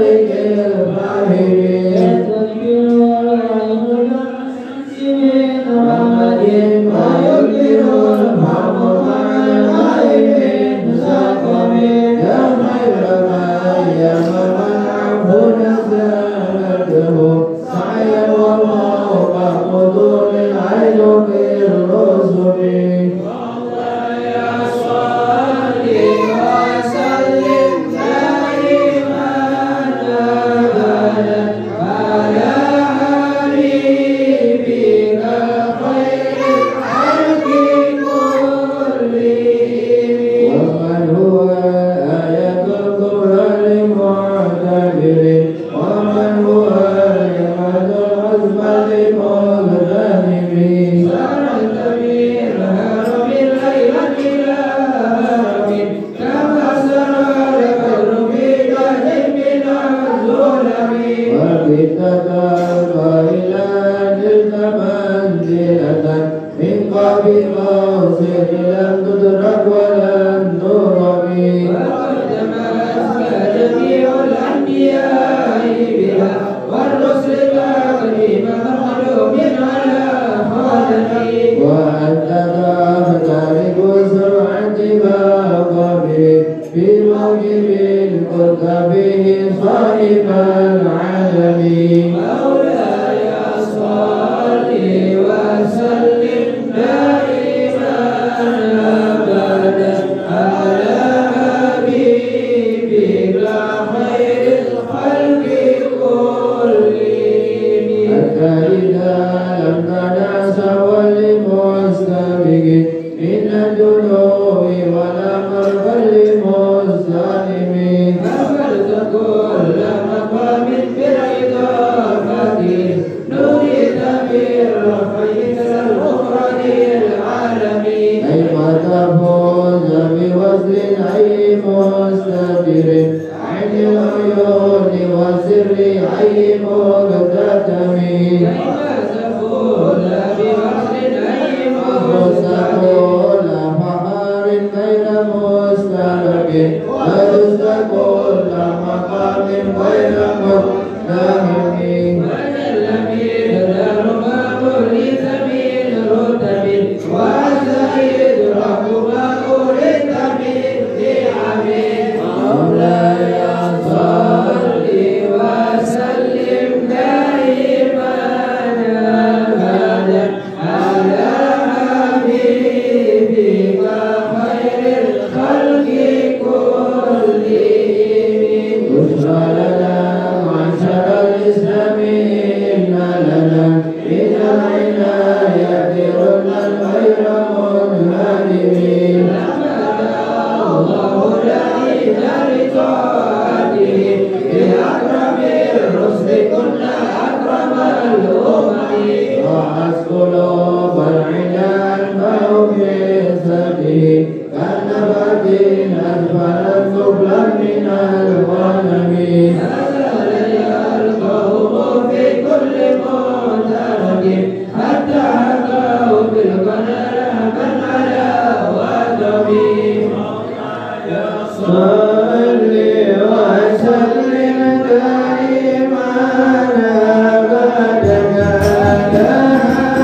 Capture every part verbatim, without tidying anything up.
Daiman abada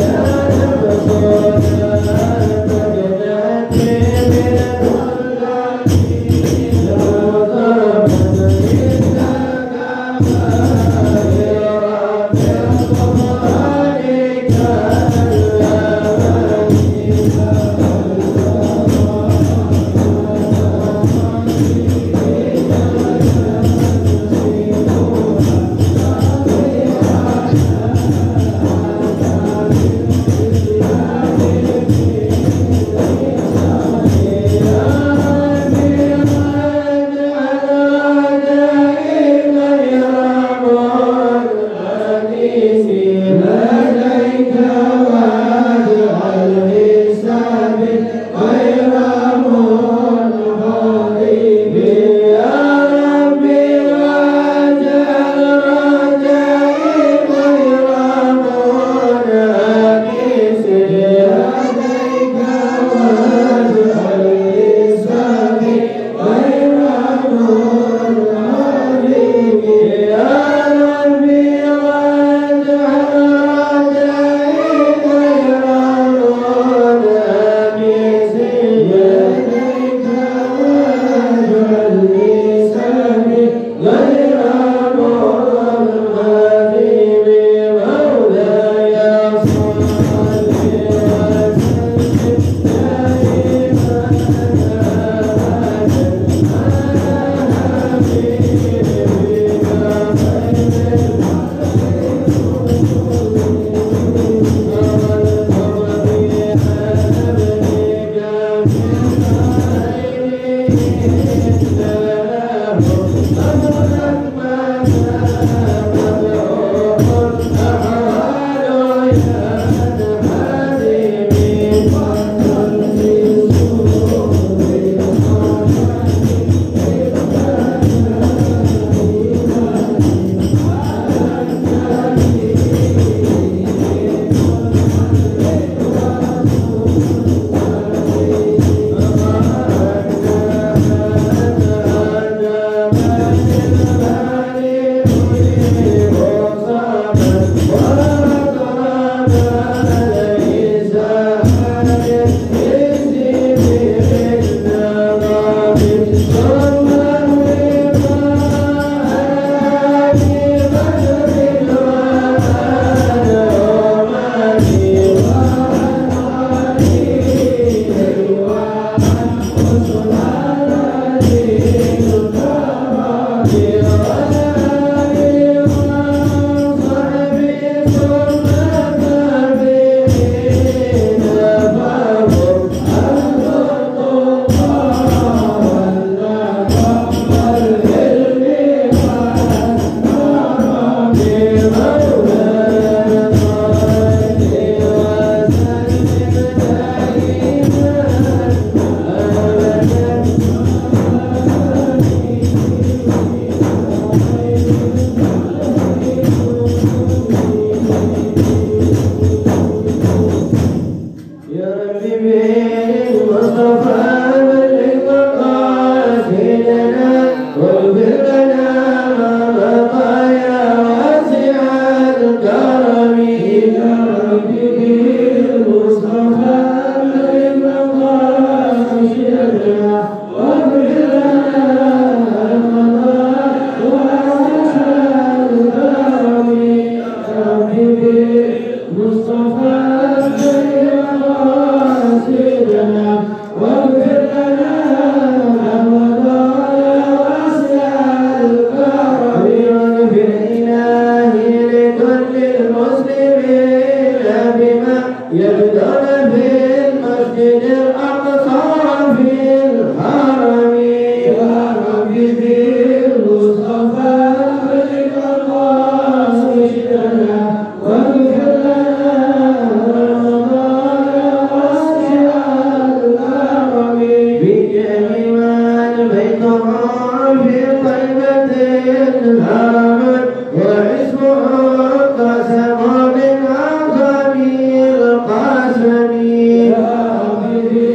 Amen.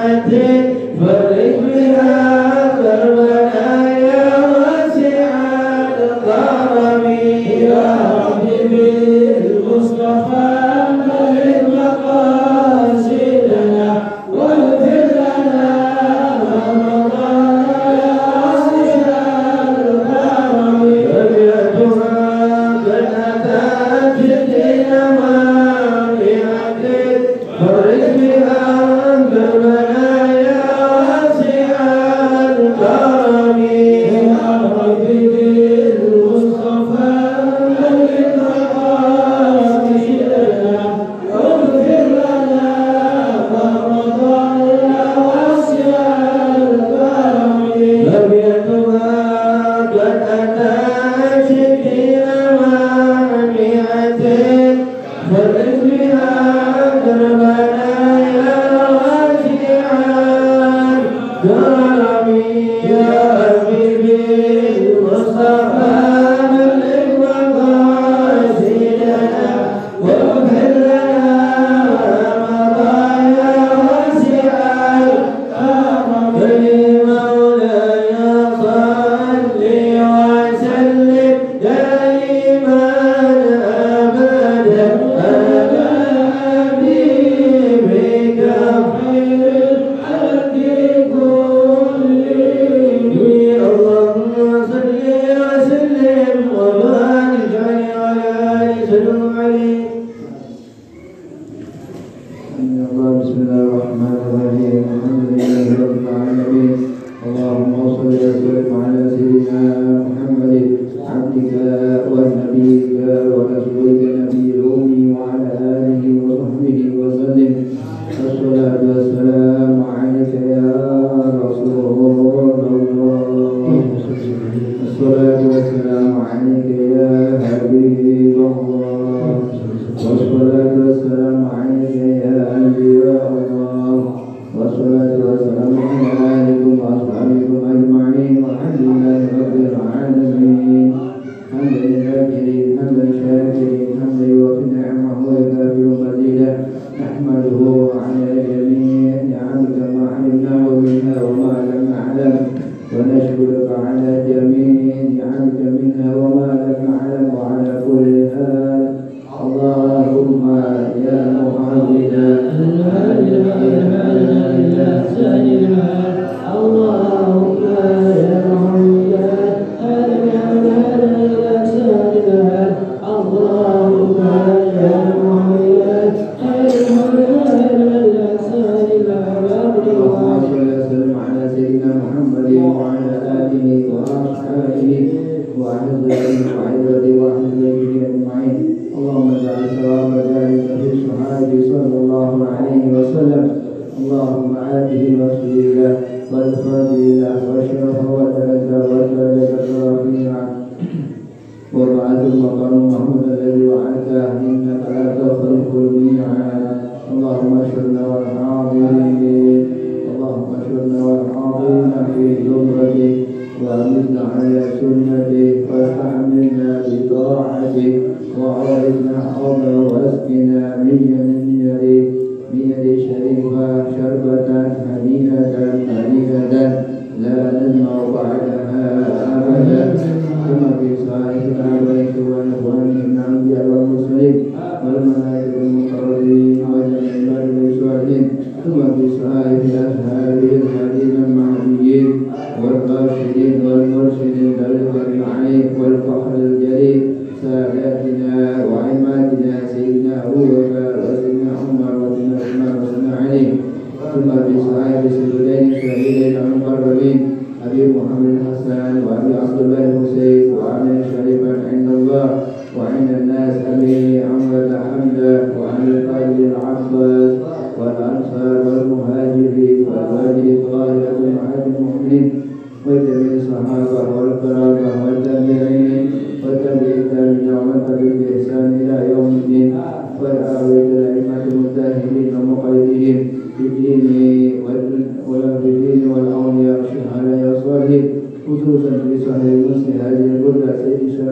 خصوصا في صحيح مسلم هذه البلدة سيد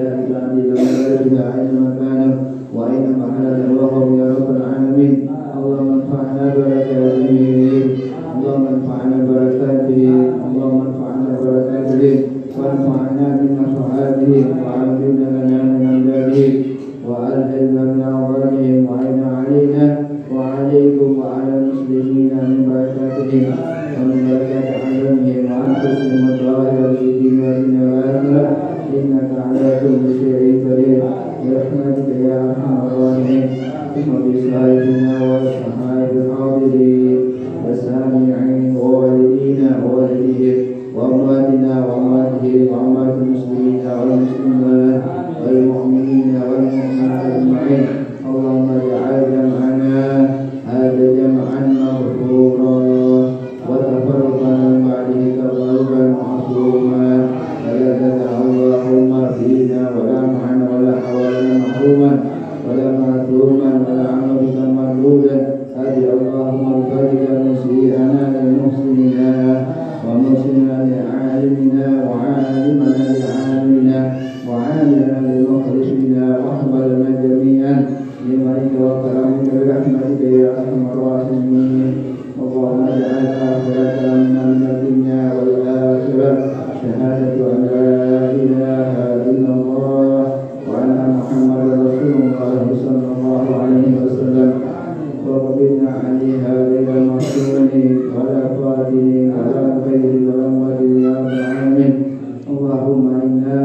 الحياة العديدة وبلدها أينما كان وأينما حل الوقف يا رب العالمين. اللهم انفعنا بركاته اللهم انفعنا بركاته اللهم انفعنا بركاته وانفعنا بنفعاته وعلمنا لنا من أمداده وألهمنا من أعظامهم وعنا علينا وعليكم وعلى المسلمين من بركاتهم ومن بركات علمهم وأنفسهم الظاهرة في ديننا والآخرة إنك على كل شيء قدير برحمتك يا أرحم الراحمين. وبصاحبنا والصحابة الحاضرين والسامعين ووالدينا ووالديهم وأمواتنا وأمواتهم وأموات المسلمين والمسلمات والمؤمنين والمؤمنات أجمعين. اللهم اجعل جمعنا هذا جمعا مغفورا وتفرقا من بعده تفرقا معصوما ولا تدع اللهم فينا ولا معنا ولا حولنا محروما ولا معصوما ولا عملك مردودا. هدي اللهم الفرج مسيئنا لمحسننا ومحسننا لعالمنا وعالمنا لعالمنا وعالمنا لمخلصنا واحفظنا جميعا بمنك وكرمك برحمتك يا ارحم الراحمين. اللهم اجعل اخرتنا من الدنيا والاخره شهاده ان لا اله الا الله وان محمدا رسول الله صلى الله عليه وسلم وقبلنا عليها غير مفتون ولا فاتن ولا غير ذنب يا رب العالمين. اللهم انا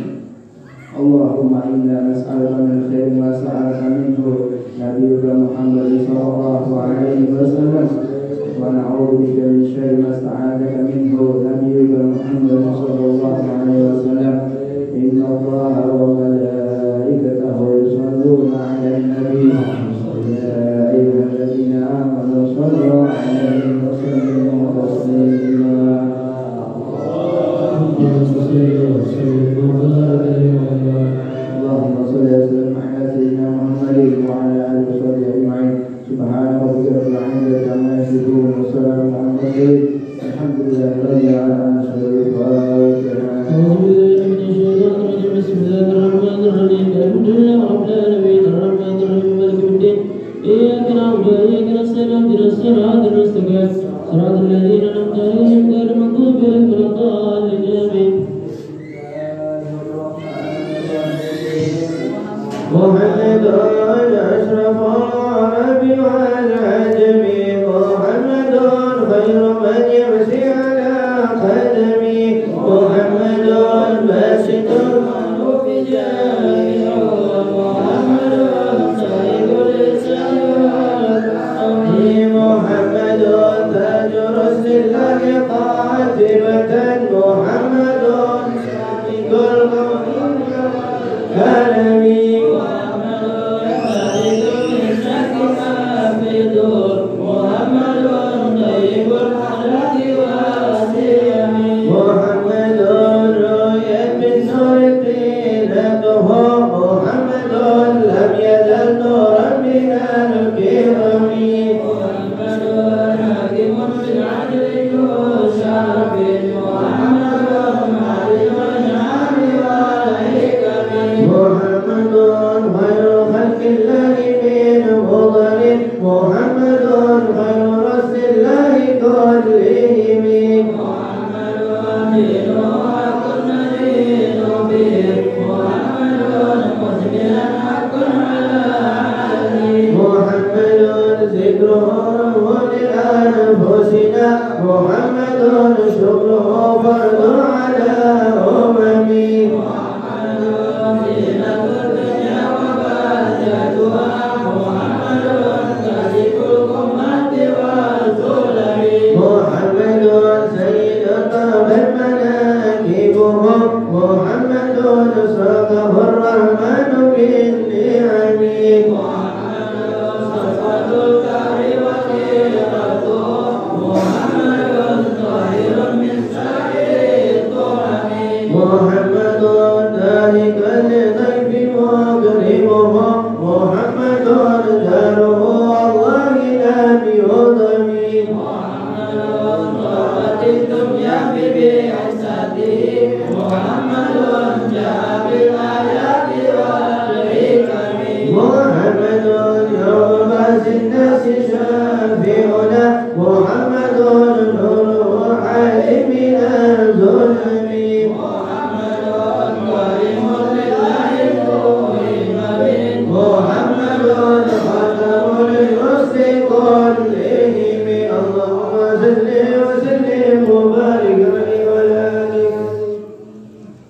اللهم انا نسالك من خير ما سالك منه نبيك محمد صلى الله عليه وسلم ونعوذ بك من شر ما استعاذك منه نبيك محمد صلى الله عليه وسلم. ان الله وملائكته يصلون على النبي يا أيها الذين آمنوا صلوا عليه وسلموا تسليما. اللهم صل وسلم على سيدنا محمد وعلى آله وصحبه أجمعين. سبحان ربك رب العزة عما يصفون وسلام على المرسلين الحمد لله رب العالمين. بسم الله الرحمن الرحيم. الحمد لله رب العالمين الرحمن الرحيم مالك يوم الدين. إياك نعبد وإياك نستعين اهدنا الصراط المستقيم صراط الذين أنعمت عليهم غير المغضوب عليهم ولا الضالين آمين. محمد أشرف العرب والعجم محمد خير من يمشي على قدمي محمد باسط المعروف جاهه محمد سيد الإسلام محمد تاج رسل الله قاتبة محمد سابق القوم كلمي محمد سابق الإسلام في دور محمد طيب الحالات والسيم محمد رؤيا من نور قيلته محمد لم يزل نورا من الكرم محمد حاكم بالعدل يشرف محمد معلم النعم والحكم محمد خير خلق الله من مضر محمد خير رسل الله كلهم محمد دين حق نذير به محمد مسلم حق على علي محمد ذكره روح لأنفسنا محمد شكره فرض على أممي محمد زينة الدنيا وبهجتها محمد كاشف الغمة والظلم محمد سيد الطبع مناكبهم محمد ساقه الرحمن بالنعم محمد صفوة الكهر وكيرته محمد طاهر من سائر الطعم محمد ذلك